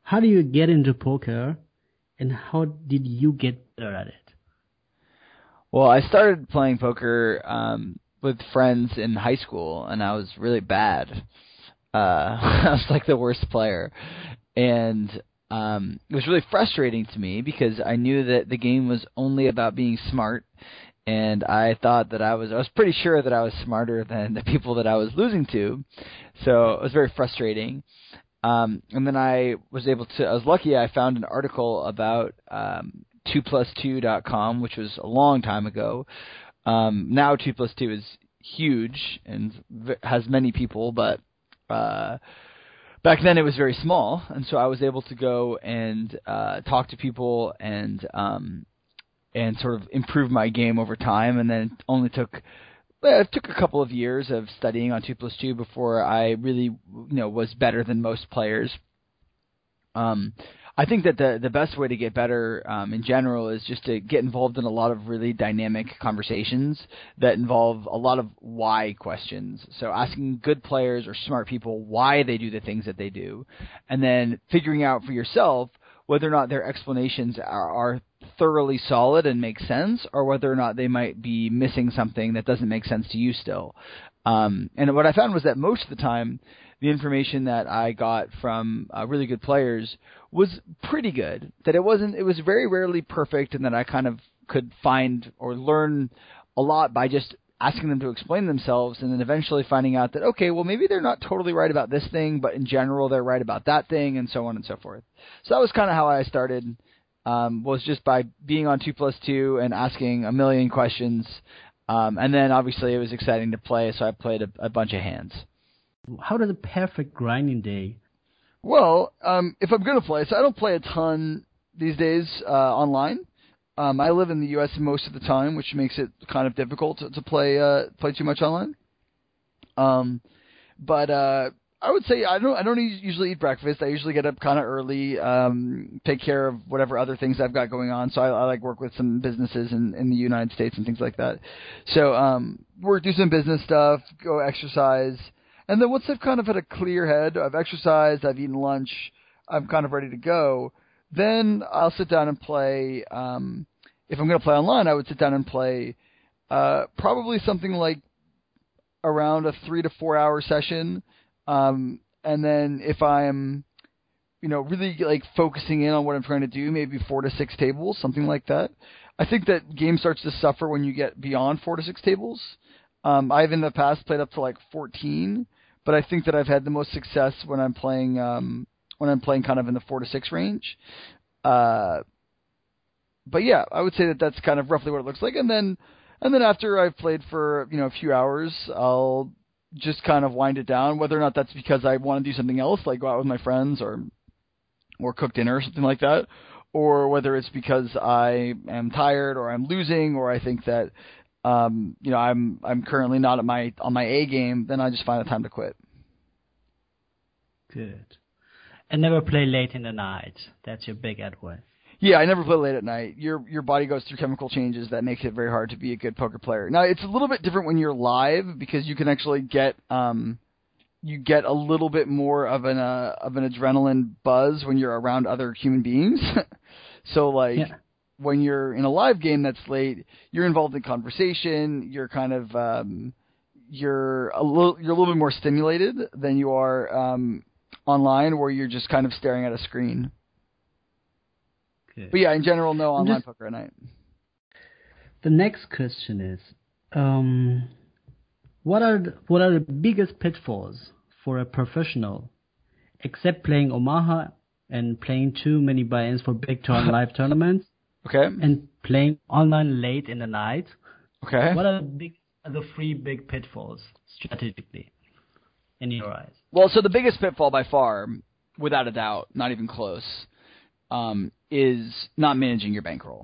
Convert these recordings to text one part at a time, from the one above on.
how do you get into poker, and how did you get better at it? Well, I started playing poker with friends in high school, and I was really bad. I was like the worst player, and it was really frustrating to me because I knew that the game was only about being smart, and I thought that I was pretty sure that I was smarter than the people that I was losing to, so it was very frustrating. And then I was lucky I found an article about 2plus2.com, which was a long time ago. Now 2plus2 is huge and has many people, but back then it was very small, and so I was able to go and talk to people and sort of improve my game over time, and then it took a couple of years of studying on 2plus2 before I really was better than most players. I think that the best way to get better in general is just to get involved in a lot of really dynamic conversations that involve a lot of why questions. So asking good players or smart people why they do the things that they do, and then figuring out for yourself whether or not their explanations are thoroughly solid and make sense, or whether or not they might be missing something that doesn't make sense to you still. And what I found was that most of the time, the information that I got from really good players was pretty good. That it was very rarely perfect, and that I kind of could find or learn a lot by just asking them to explain themselves, and then eventually finding out that, okay, well, maybe they're not totally right about this thing, but in general they're right about that thing, and so on and so forth. So that was kind of how I started, was just by being on 2plus2 and asking a million questions, and then obviously it was exciting to play, so I played a bunch of hands. How does a perfect grinding day? Well, if I'm going to play, so I don't play a ton these days online. I live in the U.S. most of the time, which makes it kind of difficult to play too much online. But I would say I don't usually eat breakfast. I usually get up kind of early, take care of whatever other things I've got going on. So I like work with some businesses in the United States and things like that. So do some business stuff, go exercise. And then once I've kind of had a clear head, I've exercised, I've eaten lunch, I'm kind of ready to go, then I'll sit down and play. If I'm going to play online, I would sit down and play probably something like around a 3 to 4 hour session. And then if I'm, really like focusing in on what I'm trying to do, maybe 4 to 6 tables, something like that. I think that game starts to suffer when you get beyond 4 to 6 tables. I've in the past played up to like 14. But I think that I've had the most success when I'm playing kind of in the 4 to 6 range. But yeah, I would say that that's kind of roughly what it looks like. And then after I've played for a few hours, I'll just kind of wind it down. Whether or not that's because I want to do something else, like go out with my friends or cook dinner or something like that, or whether it's because I am tired or I'm losing, or I think that I'm currently not on my A game, then I just find the time to quit. Good. And never play late in the night. That's your big advice. Yeah, I never play late at night. Your body goes through chemical changes that makes it very hard to be a good poker player. Now, it's a little bit different when you're live because you can actually get a little bit more of an adrenaline buzz when you're around other human beings. So when you're in a live game that's late, you're involved in conversation. You're kind of you're a little bit more stimulated than you are online, where you're just kind of staring at a screen. Okay. But yeah, in general, no online poker at night. The next question is, what are the biggest pitfalls for a professional, except playing Omaha and playing too many buy-ins for big live tournaments? Okay. And playing online late in the night. Okay. What are the 3 big pitfalls strategically in your eyes? Well, so the biggest pitfall by far, without a doubt, not even close, is not managing your bankroll.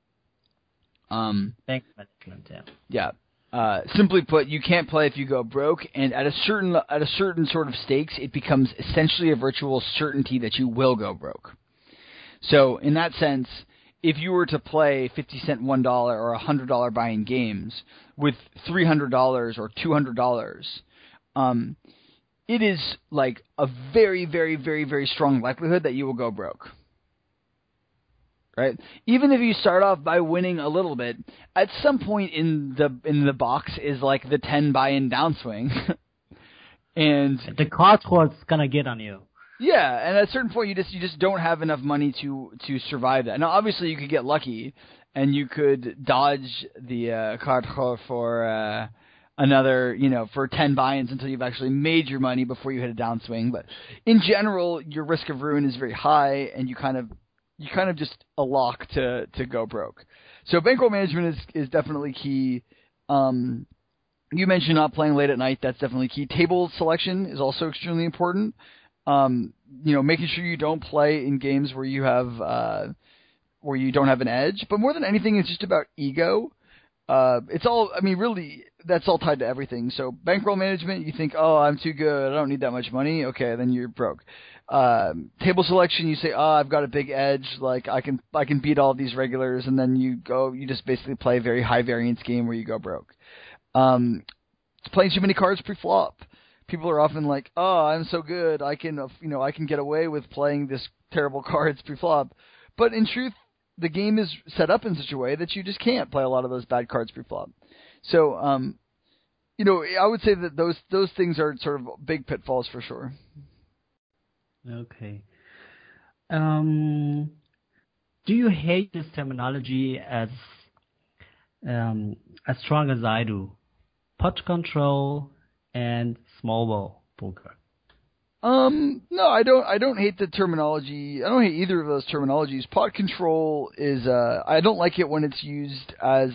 Bank management, yeah. Yeah. Simply put, you can't play if you go broke, and at a certain sort of stakes, it becomes essentially a virtual certainty that you will go broke. So in that sense, if you were to play 50-cent $1 or $100 buy-in games with $300 or $200, it is like a very, very, very, very strong likelihood that you will go broke. Right? Even if you start off by winning a little bit, at some point in the box is like the 10 buy-in downswing. And the card score is gonna get on you. Yeah, and at a certain point you just don't have enough money to survive that. Now obviously you could get lucky and you could dodge the card score for another, for 10 buy-ins until you've actually made your money before you hit a downswing. But in general, your risk of ruin is very high, and you kind of just a lock to go broke. So bankroll management is definitely key. You mentioned not playing late at night. That's definitely key. Table selection is also extremely important. Making sure you don't play in games where you have where you don't have an edge. But more than anything, it's just about ego. Really, that's all tied to everything. So bankroll management, you think, oh, I'm too good, I don't need that much money. Okay, then you're broke. Table selection, you say, oh, I've got a big edge, like I can beat all of these regulars, and then you just basically play a very high variance game where you go broke. Playing too many cards pre-flop. People are often like, oh, I'm so good, I can get away with playing this terrible cards pre-flop. But in truth, the game is set up in such a way that you just can't play a lot of those bad cards pre-flop. So, I would say that those things are sort of big pitfalls for sure. Okay. Do you hate this terminology as strong as I do? Pot control and small ball poker. No, I don't hate the terminology. I don't hate either of those terminologies. Pot control is I don't like it when it's used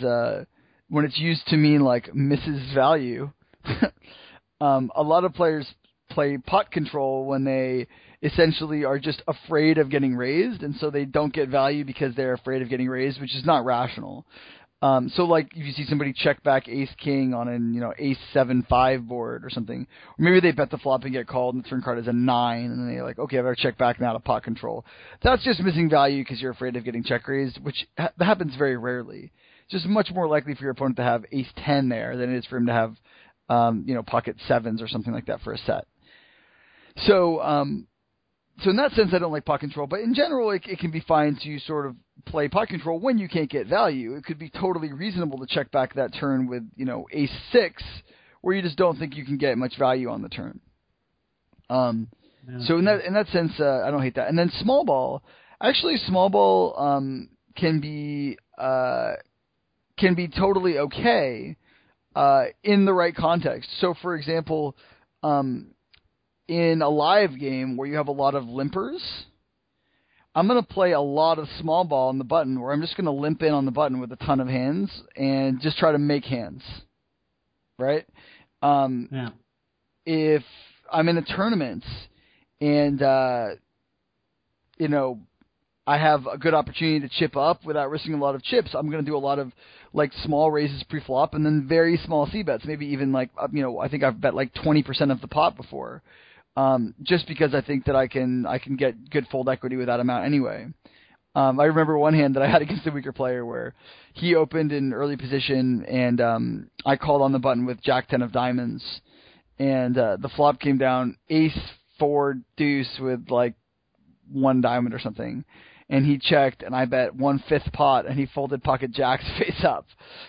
to mean like misses value. A lot of players play pot control when they essentially are just afraid of getting raised, and so they don't get value because they're afraid of getting raised, which is not rational. So like if you see somebody check back ace king on an ace 7-5 board or something, or maybe they bet the flop and get called and the turn card is a 9, and then they're like, okay, I better check back now to pot control. That's just missing value because you're afraid of getting check raised, which happens very rarely. It's just much more likely for your opponent to have ace 10 there than it is for him to have pocket 7s or something like that for a set. So in that sense, I don't like pot control, but in general, it can be fine to sort of play pot control when you can't get value. It could be totally reasonable to check back that turn with, ace 6, where you just don't think you can get much value on the turn. So in that sense, I don't hate that. And then small ball can be totally okay in the right context. So for example, in a live game where you have a lot of limpers, I'm going to play a lot of small ball on the button, where I'm just going to limp in on the button with a ton of hands and just try to make hands, right? If I'm in a tournament and, I have a good opportunity to chip up without risking a lot of chips, I'm going to do a lot of like small raises pre-flop and then very small C-bets, maybe even like, I think I've bet like 20% of the pot before. Just because I think that I can get good fold equity with that amount anyway. I remember one hand that I had against a weaker player where he opened in early position and I called on the button with Jack 10 of diamonds, and the flop came down ace 4 deuce with like 1 diamond or something, and he checked and I bet 1/5 pot and he folded pocket jacks face up.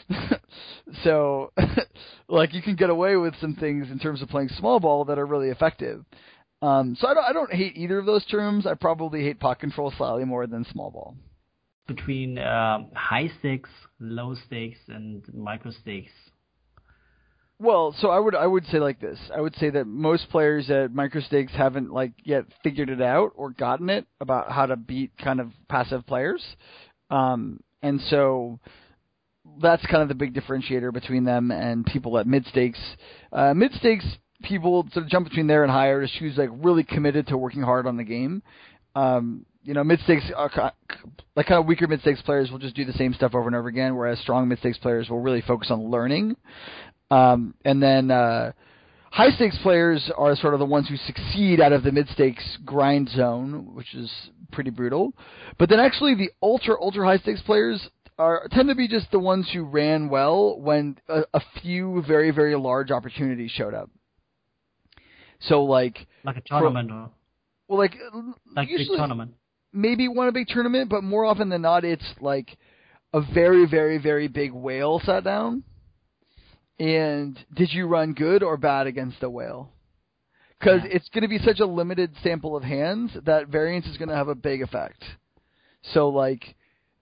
So like you can get away with some things in terms of playing small ball that are really effective. So I don't hate either of those terms. I probably hate pot control slightly more than small ball. Between high stakes, low stakes, and micro stakes. Well, so I would say like this. I would say that most players at micro stakes haven't like yet figured it out or gotten it about how to beat kind of passive players. And so that's kind of the big differentiator between them and people at mid stakes. Mid stakes people sort of jump between there and higher just who's like really committed to working hard on the game. Mid stakes are like kind of weaker mid stakes players will just do the same stuff over and over again, whereas strong mid stakes players will really focus on learning. And then high stakes players are sort of the ones who succeed out of the mid stakes grind zone, which is pretty brutal. But then actually the ultra high stakes players tend to be just the ones who ran well when a few very, very large opportunities showed up. So like a tournament well, like big usually tournament. maybe won a big tournament, but more often than not, it's like a very, very, very big whale sat down. And did you run good or bad against a whale? Because it's going to be such a limited sample of hands that variance is going to have a big effect. So like,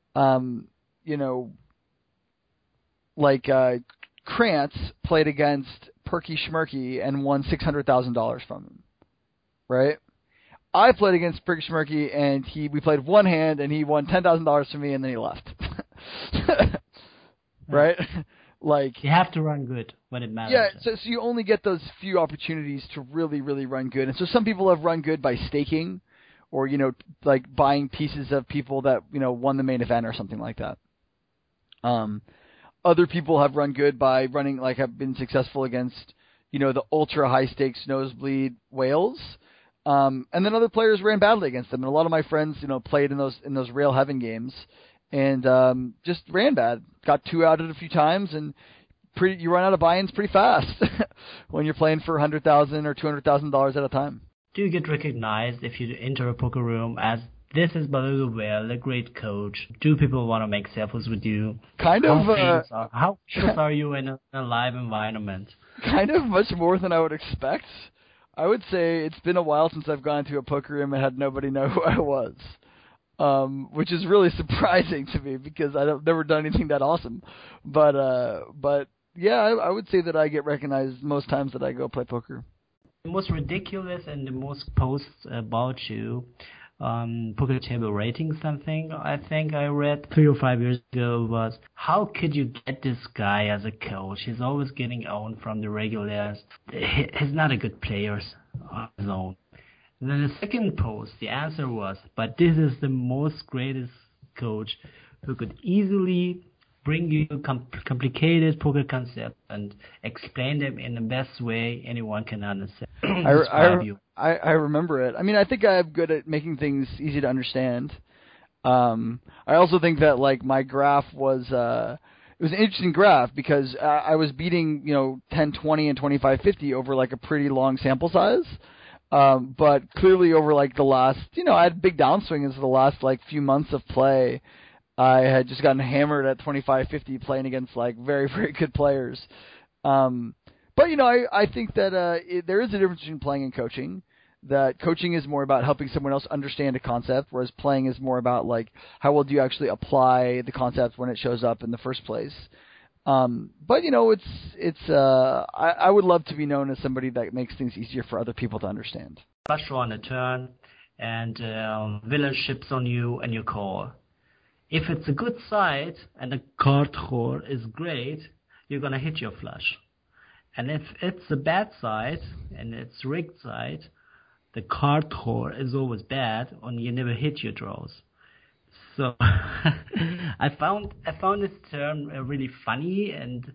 Krantz played against Perky Schmerky and won $600,000 from him, right? I played against Perky Schmerky and we played one hand and he won $10,000 from me and then he left. Right? Like you have to run good when it matters. Yeah, so you only get those few opportunities to really, really run good. And so some people have run good by staking or, like buying pieces of people that, won the main event or something like that. Other people have run good by running, like have been successful against, the ultra high stakes nosebleed whales. And then other players ran badly against them. And a lot of my friends, played in those Rail Heaven games and just ran bad. Got two out a few times, and you run out of buy-ins pretty fast when you're playing for $100,000 or $200,000 at a time. Do you get recognized if you enter a poker room as this is Baloo Well, a great coach? Do people want to make selfies with you? Kind of. How famous are you in a live environment? Kind of much more than I would expect. I would say it's been a while since I've gone to a poker room and had nobody know who I was. Which is really surprising to me because I've never done anything that awesome. But yeah, I would say that I get recognized most times that I go play poker. The most ridiculous and the most posts about you, poker table rating something I think I read 3 or 5 years ago was, how could you get this guy as a coach? He's always getting owned from the regulars. He's not a good player on his own. And then the second post, the answer was, but this is the most greatest coach who could easily bring you complicated poker concepts and explain them in the best way anyone can understand. I remember it. I mean, I think I'm good at making things easy to understand. I also think that like my graph was it was an interesting graph because I was beating 10-20 and 25-50 over like a pretty long sample size. But clearly over like the last, I had big downswings for the last like few months of play. I had just gotten hammered at 25-50 playing against like very, very good players. But I think that there is a difference between playing and coaching. That coaching is more about helping someone else understand a concept, whereas playing is more about like how well do you actually apply the concept when it shows up in the first place. But I would love to be known as somebody that makes things easier for other people to understand. Flush on a turn, and villain ships on you, and you call. If it's a good side and the card draw is great, you're gonna hit your flush. And if it's a bad side and it's rigged side, the card draw is always bad, and you never hit your draws. So I found this term really funny, and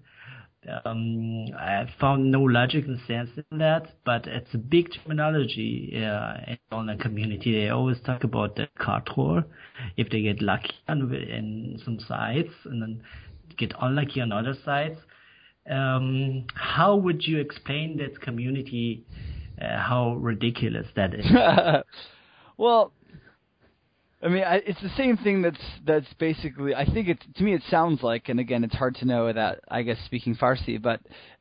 I found no logic and sense in that. But it's a big terminology in the online community. They always talk about the card draw if they get lucky in some sites and then get unlucky on other sites. How would you explain that community? How ridiculous that is? Well, I mean, it's the same thing that's basically, I think to me it sounds like, and again, it's hard to know that, I guess, speaking Farsi, but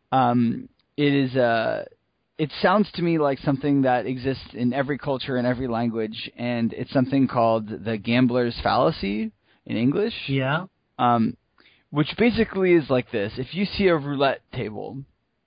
it sounds to me like something that exists in every culture and every language, and it's something called the gambler's fallacy in English. Yeah. Which basically is like this. If you see a roulette table,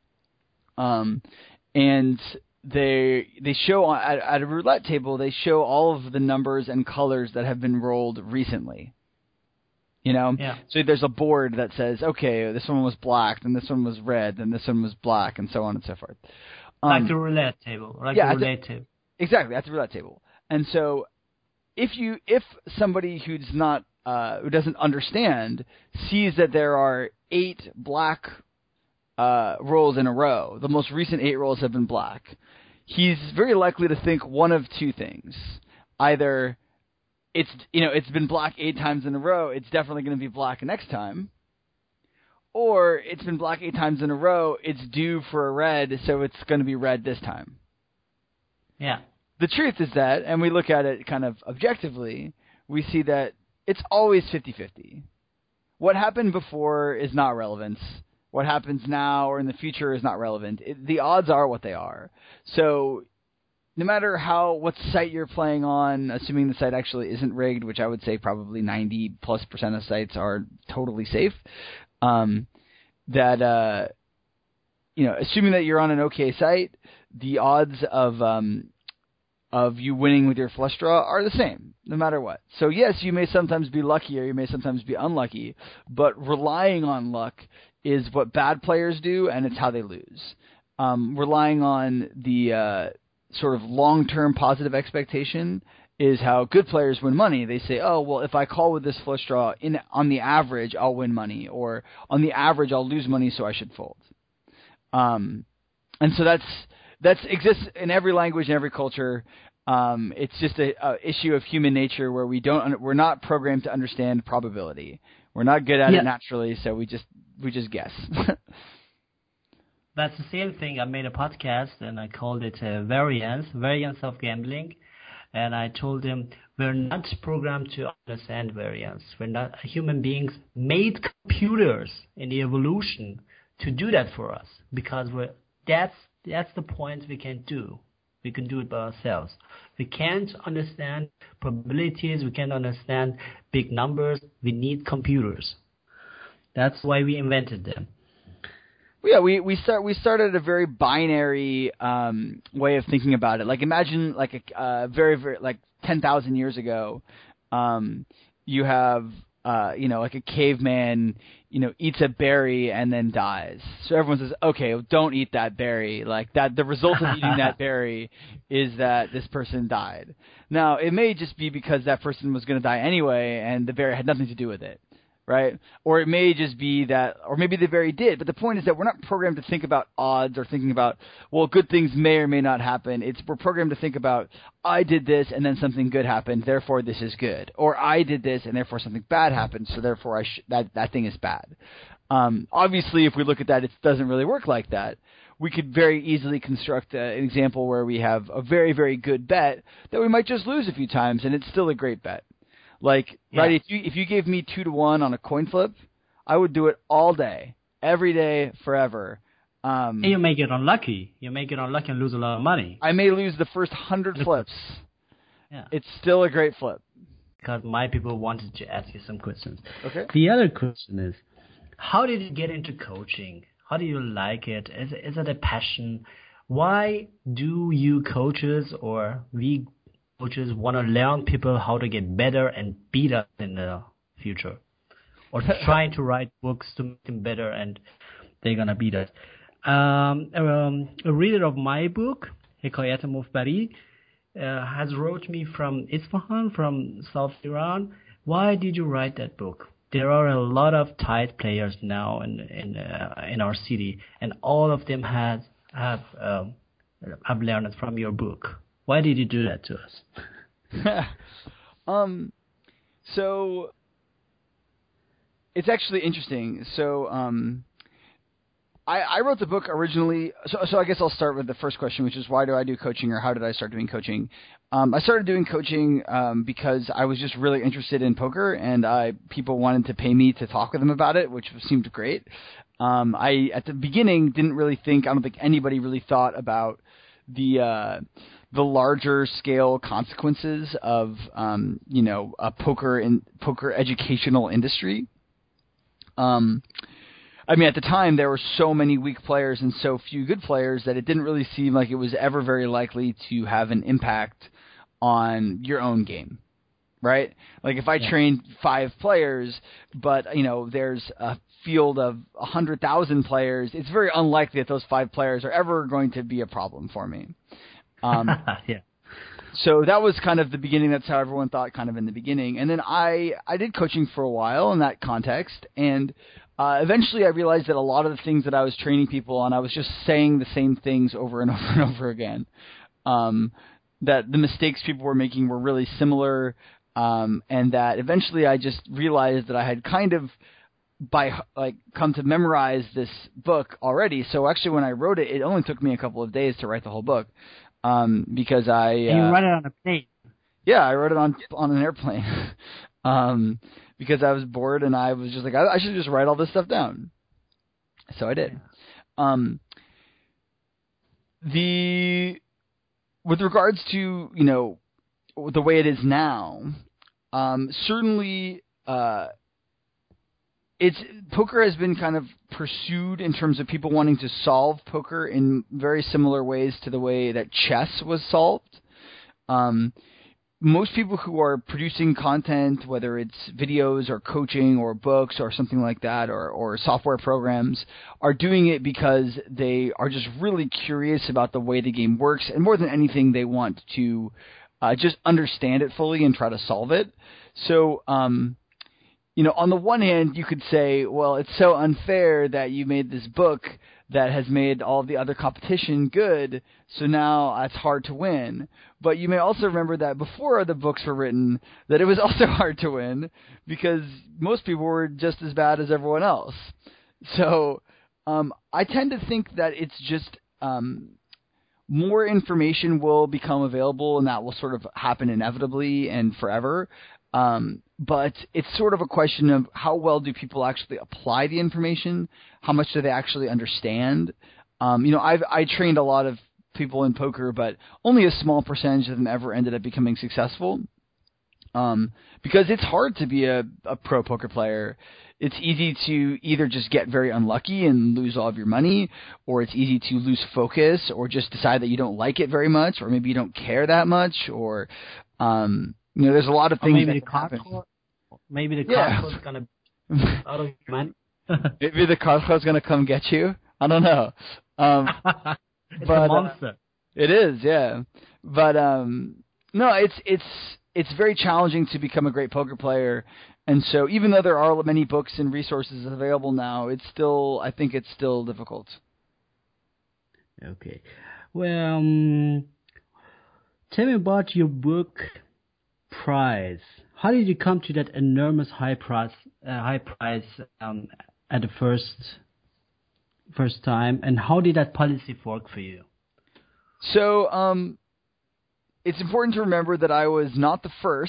and they show at a roulette table, they show all of the numbers and colors that have been rolled recently. Yeah. So there's a board that says, okay, this one was black, then this one was red, then this one was black, and so on and so forth. Like the roulette table. Table. Exactly, at the roulette table. And so if somebody who's not who doesn't understand sees that there are 8 black rolls in a row, the most recent 8 rolls have been black, he's very likely to think one of two things. Either it's been black 8 times in a row, it's definitely going to be black next time, or it's been black 8 times in a row, it's due for a red, so it's going to be red this time. Yeah. The truth is that, and we look at it kind of objectively, we see that it's always 50-50. What happened before is not relevant. What happens now or in the future is not relevant. The odds are what they are. So no matter what site you're playing on, assuming the site actually isn't rigged, which I would say probably 90+% of sites are totally safe, assuming that you're on an okay site, the odds of you winning with your flush draw are the same, no matter what. So yes, you may sometimes be lucky or you may sometimes be unlucky, but relying on luck is what bad players do, and it's how they lose. Relying on the sort of long-term positive expectation is how good players win money. They say, oh, well, if I call with this flush draw, on the average, I'll win money, or on the average, I'll lose money, so I should fold. And so that exists in every language and every culture. It's just a issue of human nature where we're not programmed to understand probability. We're not good at it naturally, so we just guess. That's the same thing. I made a podcast and I called it Variance of Gambling. And I told them we're not programmed to understand variance. We're not human beings made computers in the evolution to do that for us, because that's the point we can do. We can do it by ourselves. We can't understand probabilities. We can't understand big numbers. We need computers. That's why we invented them. Yeah, we started a very binary way of thinking about it. Like imagine like a very like 10,000 years ago, you have like a caveman, eats a berry and then dies. So everyone says, okay, well, don't eat that berry. Like that, the result of eating that berry is that this person died. Now it may just be because that person was going to die anyway, and the berry had nothing to do with it. Right? Or it may just be that, or maybe the berry did. But the point is that we're not programmed to think about odds or thinking about, well, good things may or may not happen. We're programmed to think about, I did this and then something good happened, therefore this is good. Or I did this and therefore something bad happened, so therefore that thing is bad. Obviously, if we look at that, it doesn't really work like that. We could very easily construct an example where we have a very, very good bet that we might just lose a few times, and it's still a great bet. Like, right, if you gave me 2-1 on a coin flip, I would do it all day, every day, forever. And you may get unlucky. You may get unlucky and lose a lot of money. I may lose the first 100 flips. Yeah. It's still a great flip. Because my people wanted to ask you some questions. Okay. The other question is, how did you get into coaching? How do you like it? Is it a passion? Why do you coaches or we coaches want to learn people how to get better and beat us in the future, or trying to write books to make them better and they're gonna beat us? A reader of my book, Hikayat Mufbari, has wrote me from Isfahan, from South Iran. Why did you write that book? There are a lot of tight players now in our city, and all of them have learned it from your book. Why did you do that to us? So it's actually interesting. So I wrote the book originally. So I guess I'll start with the first question, which is why do I do coaching, or how did I start doing coaching? I started doing coaching because I was just really interested in poker, and people wanted to pay me to talk with them about it, which seemed great. I at the beginning didn't really think. I don't think anybody really thought about the larger scale consequences of a poker educational industry. I mean, at the time there were so many weak players and so few good players that it didn't really seem like it was ever very likely to have an impact on your own game, right? Like if I trained 5 players, but there's a field of 100,000 players, it's very unlikely that those 5 players are ever going to be a problem for me. Yeah. So that was kind of the beginning. That's how everyone thought kind of in the beginning. And then I did coaching for a while in that context. And eventually I realized that a lot of the things that I was training people on, I was just saying the same things over and over and over again. That the mistakes people were making were really similar. And that eventually I just realized that I had kind of come to memorize this book already. So actually when I wrote it, it only took me a couple of days to write the whole book. because And you write it on a plane. Yeah, I wrote it on an airplane because I was bored and I was just like, I should just write all this stuff down. So I did. With regards to, the way it is now, certainly poker has been kind of pursued in terms of people wanting to solve poker in very similar ways to the way that chess was solved. Most people who are producing content, whether it's videos or coaching or books or something like that, or software programs, are doing it because they are just really curious about the way the game works, and more than anything, they want to just understand it fully and try to solve it. So, on the one hand, you could say, well, it's so unfair that you made this book that has made all the other competition good, so now it's hard to win. But you may also remember that before the books were written, that it was also hard to win because most people were just as bad as everyone else. So I tend to think that it's just more information will become available, and that will sort of happen inevitably and forever. But it's sort of a question of how well do people actually apply the information? How much do they actually understand? I trained a lot of people in poker, but only a small percentage of them ever ended up becoming successful. Because it's hard to be a pro poker player. It's easy to either just get very unlucky and lose all of your money, or it's easy to lose focus, or just decide that you don't like it very much, or maybe you don't care that much, or there's a lot of things that can happen. Maybe the card is going to out of your money. Maybe the card is going to come get you. I don't know. It's a monster. It is, yeah. But no, it's very challenging to become a great poker player. And so even though there are many books and resources available now, I think it's still difficult. Okay. Well, tell me about your book price. How did you come to that enormous high price at the first time, and how did that policy work for you? So it's important to remember that I was not the first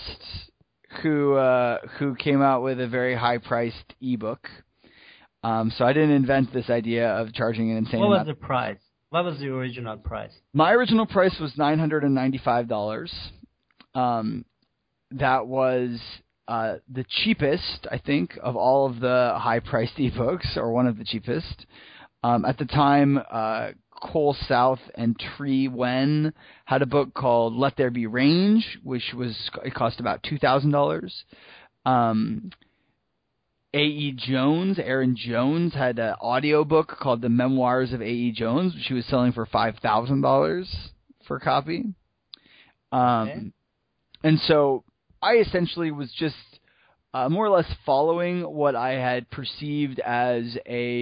who came out with a very high-priced ebook. So I didn't invent this idea of charging an insane amount. What was the price? What was the original price? My original price was $995. That was the cheapest, I think, of all of the high-priced ebooks, or one of the cheapest. At the time, Cole South and Tree Wen had a book called Let There Be Range, it cost about $2,000. Aaron Jones had an audio book called The Memoirs of A.E. Jones, which he was selling for $5,000 for a copy. And so I essentially was just more or less following what I had perceived as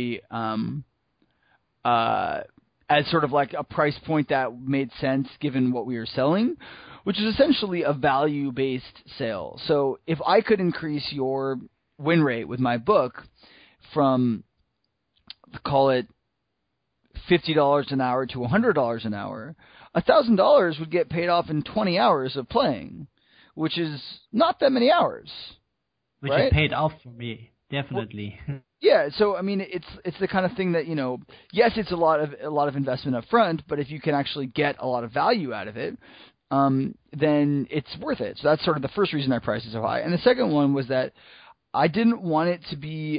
as sort of like a price point that made sense given what we were selling, which is essentially a value-based sale. So if I could increase your win rate with my book from, call it $50 an hour to $100 an hour, $1,000 would get paid off in 20 hours of playing, which is not that many hours. Which right? is paid off for me, definitely. Well, yeah, so I mean, it's the kind of thing that, yes, it's a lot of investment up front, but if you can actually get a lot of value out of it, then it's worth it. So that's sort of the first reason I priced it so high. And the second one was that I didn't want it to be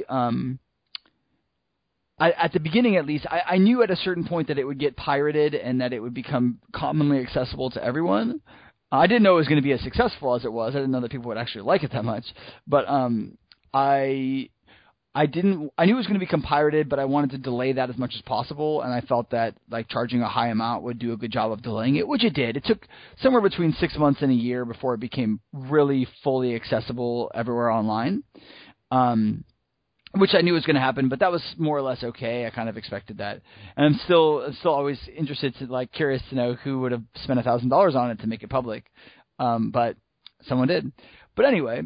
at the beginning, at least, I knew at a certain point that it would get pirated and that it would become commonly accessible to everyone. I didn't know it was going to be as successful as it was. I didn't know that people would actually like it that much. But I knew it was going to become pirated, but I wanted to delay that as much as possible, and I felt that like charging a high amount would do a good job of delaying it, which it did. It took somewhere between 6 months and a year before it became really fully accessible everywhere online, which I knew was going to happen, but that was more or less okay. I kind of expected that, and I'm still always interested curious to know who would have spent $1,000 on it to make it public, but someone did. But anyway,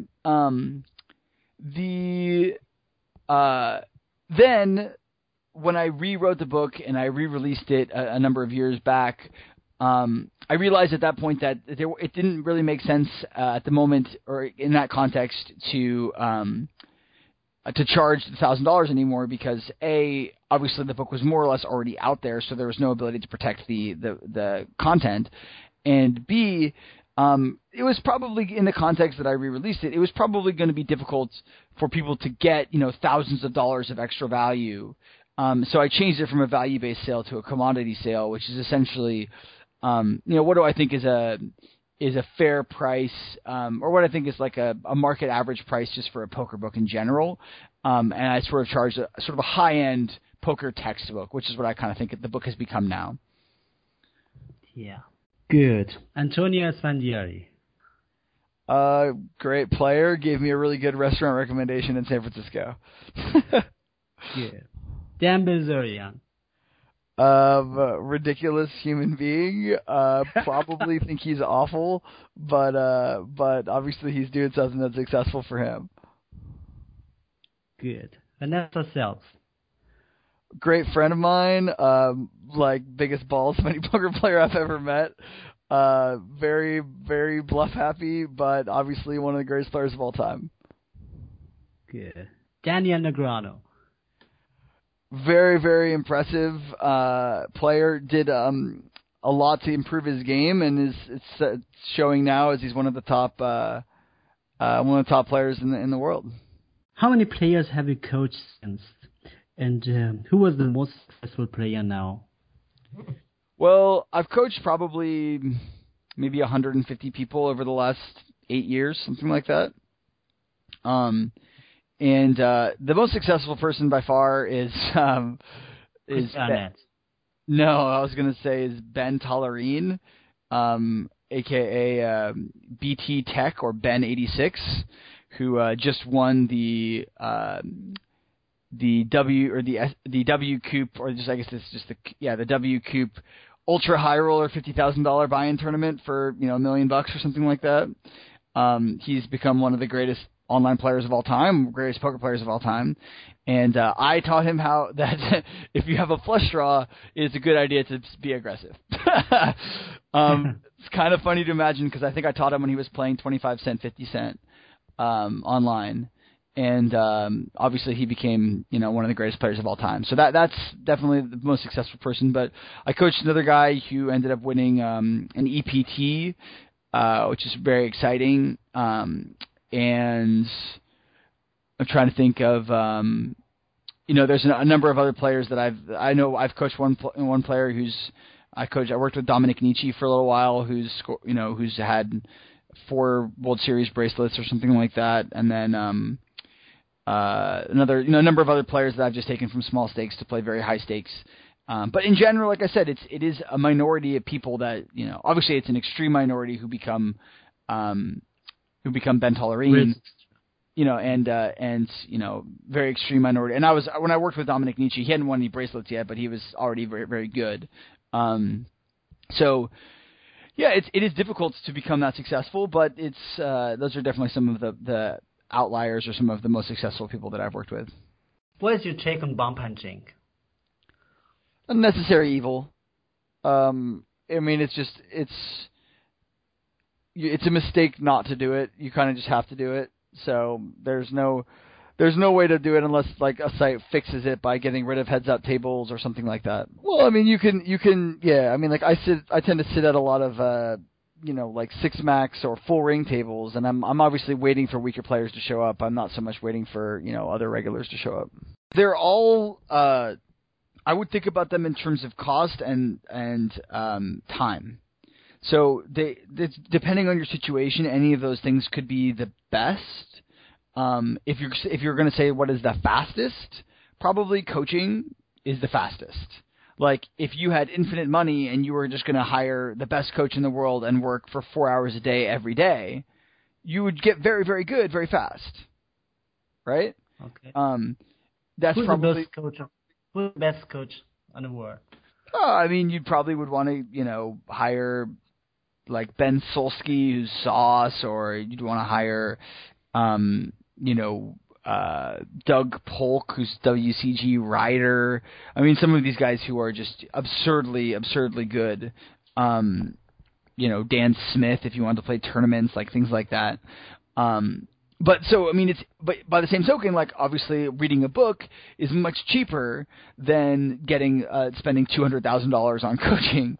then when I rewrote the book and I re-released it a number of years back, I realized at that point that it didn't really make sense at the moment or in that context to charge $1,000 anymore because obviously the book was more or less already out there, so there was no ability to protect the content, and B, it was probably in the context that I re-released it. It was probably going to be difficult for people to get thousands of dollars of extra value. So I changed it from a value-based sale to a commodity sale, which is essentially, what do I think is a fair price, or what I think is like a market average price just for a poker book in general. And I sort of charged a sort of a high-end poker textbook, which is what I kind of think the book has become now. Yeah. Good. Antonio Esfandiari. Great player. Gave me a really good restaurant recommendation in San Francisco. Good. Dan Bilzerian. Ridiculous human being. Probably think he's awful, but obviously he's doing something that's successful for him. Good. Vanessa Self. Great friend of mine. Biggest balls of any poker player I've ever met. Very, very bluff happy, but obviously one of the greatest players of all time. Good. Daniel Negreanu. Very, very impressive player. Did a lot to improve his game, and it's showing now as he's one of the top players in the world. How many players have you coached since? And who was the most successful player now? Well, I've coached probably maybe 150 people over the last 8 years, something like that. And the most successful person by far is Ben. No, I was going to say is Ben Tollerine, aka BT Tech or Ben86, who just won the W Coop, or just I guess it's just the W Coop Ultra High Roller $50,000 buy-in tournament for $1 million or something like that. He's become one of the greatest online players of all time, greatest poker players of all time, and I taught him how that if you have a flush draw, it's a good idea to be aggressive. It's kind of funny to imagine because I think I taught him when he was playing 25 cent, 50 cent online. And obviously he became, one of the greatest players of all time. So that's definitely the most successful person. But I coached another guy who ended up winning an EPT, which is very exciting. And I'm trying to think of, there's a number of other players that I've coached one player I worked with Dominic Nietzsche for a little while, who's had 4 World Series bracelets or something like that, and then a number of other players that I've just taken from small stakes to play very high stakes. But in general, like I said, it is a minority of people that obviously it's an extreme minority who become Ben Tollerine, and very extreme minority. And when I worked with Dominic Nietzsche, he hadn't won any bracelets yet, but he was already very, very good. So yeah, it is difficult to become that successful, but those are definitely some of the outliers or some of the most successful people that I've worked with. What is your take on bump hunting? Unnecessary evil. I mean, it's a mistake not to do it. You kind of just have to do it. So there's no way to do it unless like a site fixes it by getting rid of heads-up tables or something like that. Well, I mean, you can, yeah. I mean, like I tend to sit at a lot of like 6-max or full ring tables, and I'm obviously waiting for weaker players to show up. I'm not so much waiting for other regulars to show up. They're all I would think about them in terms of cost and time. So depending on your situation, any of those things could be the best. If you're going to say what is the fastest, probably coaching is the fastest. Like if you had infinite money and you were just going to hire the best coach in the world and work for 4 hours a day every day, you would get very, very good very fast, right? Okay. That's Who's probably the best coach? Who's the best coach in the world? I mean, you probably would want to hire like Ben Solsky, who's Sauce, or you'd want to hire Doug Polk, who's WCG Rider. I mean, some of these guys who are just absurdly good. Dan Smith if you want to play tournaments, like things like that. But by the same token, like obviously reading a book is much cheaper than spending $200,000 on coaching.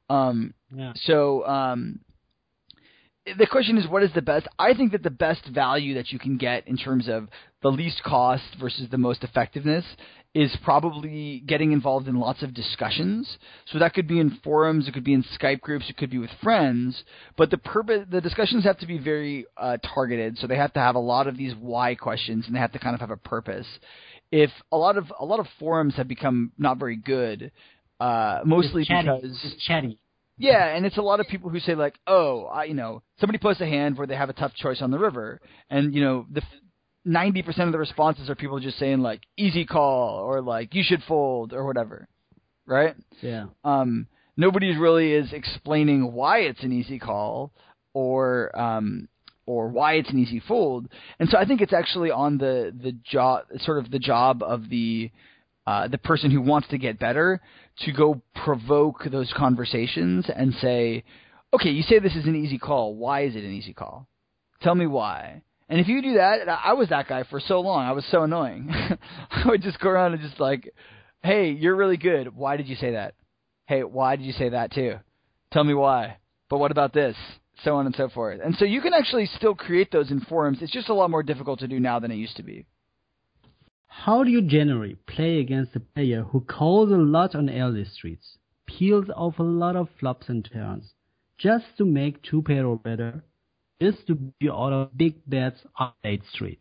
So the question is, what is the best? I think that the best value that you can get in terms of the least cost versus the most effectiveness is probably getting involved in lots of discussions. So that could be in forums, it could be in Skype groups, it could be with friends. But the discussions have to be very targeted. So they have to have a lot of these why questions, and they have to kind of have a purpose. If a lot of forums have become not very good, mostly because it's chatty. Yeah, and it's a lot of people who say like, somebody posts a hand where they have a tough choice on the river, and the 90% of the responses are people just saying like easy call or like you should fold or whatever, right? Yeah. Nobody really is explaining why it's an easy call or why it's an easy fold, and so I think it's actually on the job of the person who wants to get better to go provoke those conversations and say, okay, you say this is an easy call. Why is it an easy call? Tell me why. And if you do that, I was that guy for so long. I was so annoying. I would just go around and just like, hey, you're really good. Why did you say that? Hey, why did you say that too? Tell me why. But what about this? So on and so forth. And so you can actually still create those in forums. It's just a lot more difficult to do now than it used to be. How do you generally play against a player who calls a lot on early streets, peels off a lot of flops and turns, just to make two pair or better, just to be out of big bets on late streets?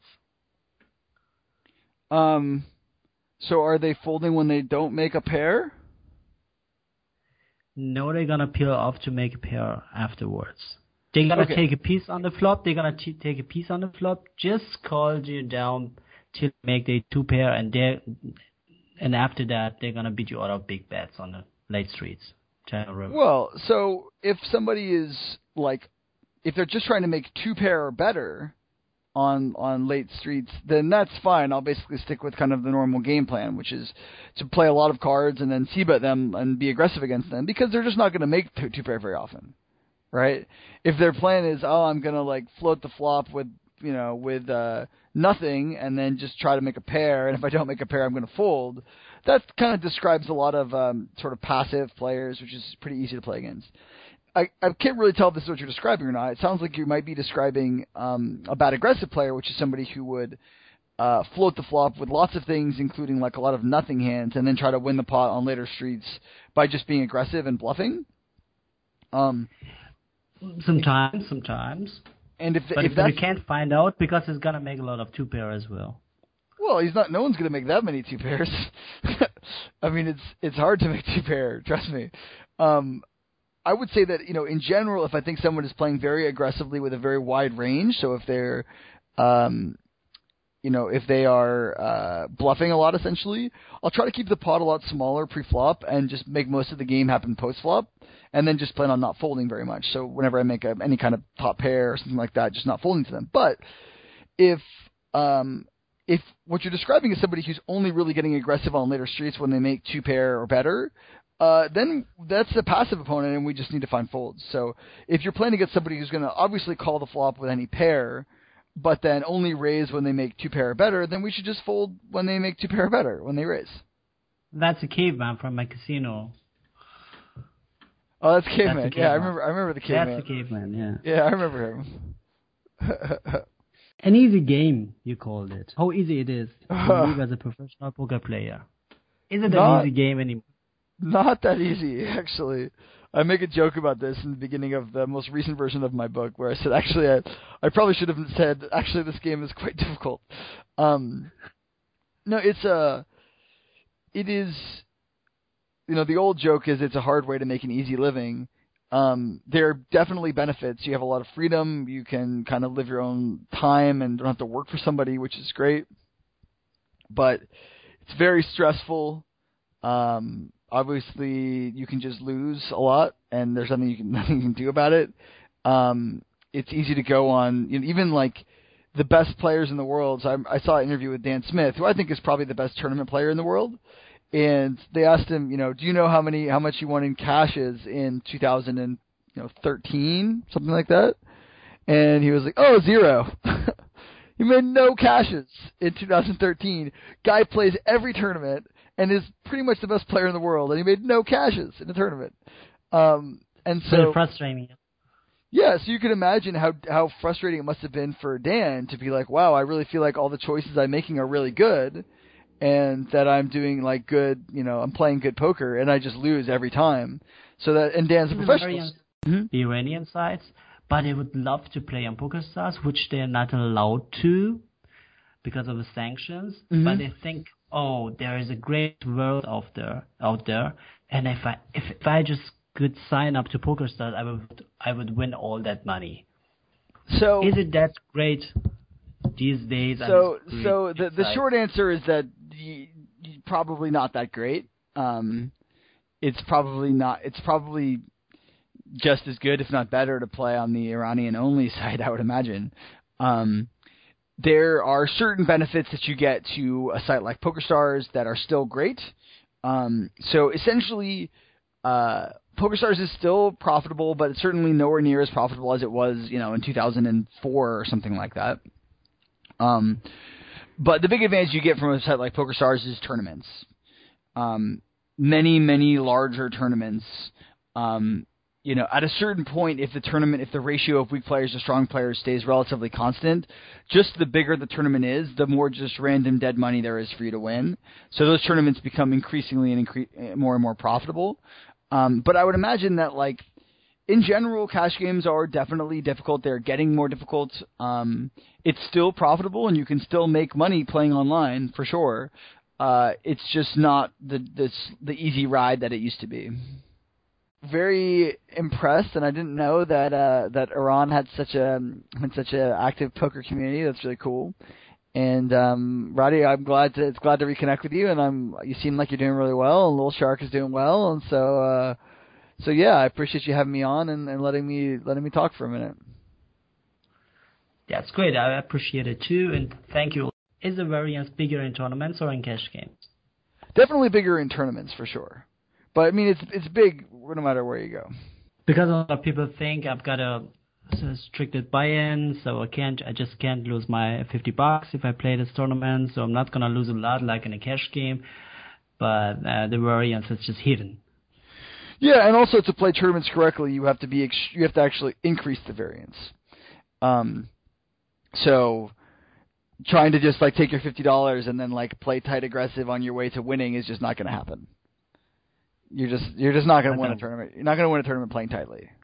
So are they folding when they don't make a pair? No, they're gonna peel off to make a pair afterwards. They're gonna take a piece on the flop. They're gonna take a piece on the flop. Just call you down till make the two pair, and after that they're gonna beat you out of big bets on the late streets. Well, so if somebody is like, if they're just trying to make two pair or better on late streets, then that's fine. I'll basically stick with kind of the normal game plan, which is to play a lot of cards and then c-bet them and be aggressive against them, because they're just not going to make two pair very often, right? If their plan is, I'm going to like float the flop with nothing and then just try to make a pair, and if I don't make a pair, I'm going to fold. That kind of describes a lot of sort of passive players, which is pretty easy to play against. I can't really tell if this is what you're describing or not. It sounds like you might be describing a bad aggressive player, which is somebody who would float the flop with lots of things, including like a lot of nothing hands, and then try to win the pot on later streets by just being aggressive and bluffing. Sometimes. And if you can't find out, because he's gonna make a lot of two pair as well. Well, he's not. No one's gonna make that many two pairs. I mean, it's hard to make two pair. Trust me. I would say that, in general, if I think someone is playing very aggressively with a very wide range, so if they're, if they are bluffing a lot, essentially, I'll try to keep the pot a lot smaller pre-flop and just make most of the game happen post-flop, and then just plan on not folding very much. So whenever I make any kind of top pair or something like that, just not folding to them. But if what you're describing is somebody who's only really getting aggressive on later streets when they make two pair or better, then that's a passive opponent, and we just need to find folds. So if you're playing against somebody who's going to obviously call the flop with any pair, but then only raise when they make two pair or better, then we should just fold when they make two pair or better, when they raise. That's a caveman from my casino. Oh, that's caveman. Yeah, I remember the caveman. That's the caveman, yeah. Yeah, I remember him. An easy game, you called it. How easy it is to live as a professional poker player. Is it an easy game anymore? Not that easy, actually. I make a joke about this in the beginning of the most recent version of my book, where I said, actually, I probably should have said, actually, this game is quite difficult. No, it is, the old joke is it's a hard way to make an easy living. There are definitely benefits. You have a lot of freedom. You can kind of live your own time and don't have to work for somebody, which is great. But it's very stressful. Obviously, you can just lose a lot, and there's nothing you can do about it. It's easy to go on, even like the best players in the world. So I saw an interview with Dan Smith, who I think is probably the best tournament player in the world. and they asked him, do you know how much he won in cashes in 2013, something like that? And he was like, oh, 0. He made no cashes in 2013. Guy plays every tournament and is pretty much the best player in the world, and he made no cashes in the tournament. And so Very frustrating. yeah, so you can imagine how frustrating it must have been for Dan to be like, wow, I really feel like all the choices I'm making are really good, and that I'm doing like good, I'm playing good poker, and I just lose every time. So that, and Dan's a professional. The Iranian sites, but they would love to play on PokerStars, which they're not allowed to because of the sanctions. Mm-hmm. But they think, oh, there is a great world out there, and if I just could sign up to PokerStars, I would win all that money. So is it that great these days? So the short answer is that probably not that great. It's probably just as good, if not better, to play on the Iranian-only side, I would imagine. There are certain benefits that you get to a site like PokerStars that are still great. So essentially, PokerStars is still profitable, but it's certainly nowhere near as profitable as it was, in 2004 or something like that. But the big advantage you get from a site like PokerStars is tournaments. Many, many larger tournaments. At a certain point, if the ratio of weak players to strong players stays relatively constant, just the bigger the tournament is, the more just random dead money there is for you to win. So those tournaments become increasingly more and more profitable. But I would imagine that, in general, cash games are definitely difficult. They're getting more difficult. It's still profitable, and you can still make money playing online, for sure. It's just not the easy ride that it used to be. Very impressed, and I didn't know that Iran had such a active poker community. That's really cool. And Roddy, it's glad to reconnect with you. And you seem like you're doing really well, and Little Shark is doing well. And so yeah, I appreciate you having me on and letting me talk for a minute. That's great. I appreciate it too, and thank you. Is the variance bigger in tournaments or in cash games? Definitely bigger in tournaments for sure. But I mean, it's big no matter where you go. Because a lot of people think I've got a restricted buy-in, so I just can't lose my $50 if I play this tournament. So I'm not gonna lose a lot like in a cash game. But the variance is just hidden. Yeah, and also to play tournaments correctly, you have to actually increase the variance. So trying to just take your $50 and then play tight aggressive on your way to winning is just not going to happen. You're just not going to win a tournament. You're not going to win a tournament playing tightly.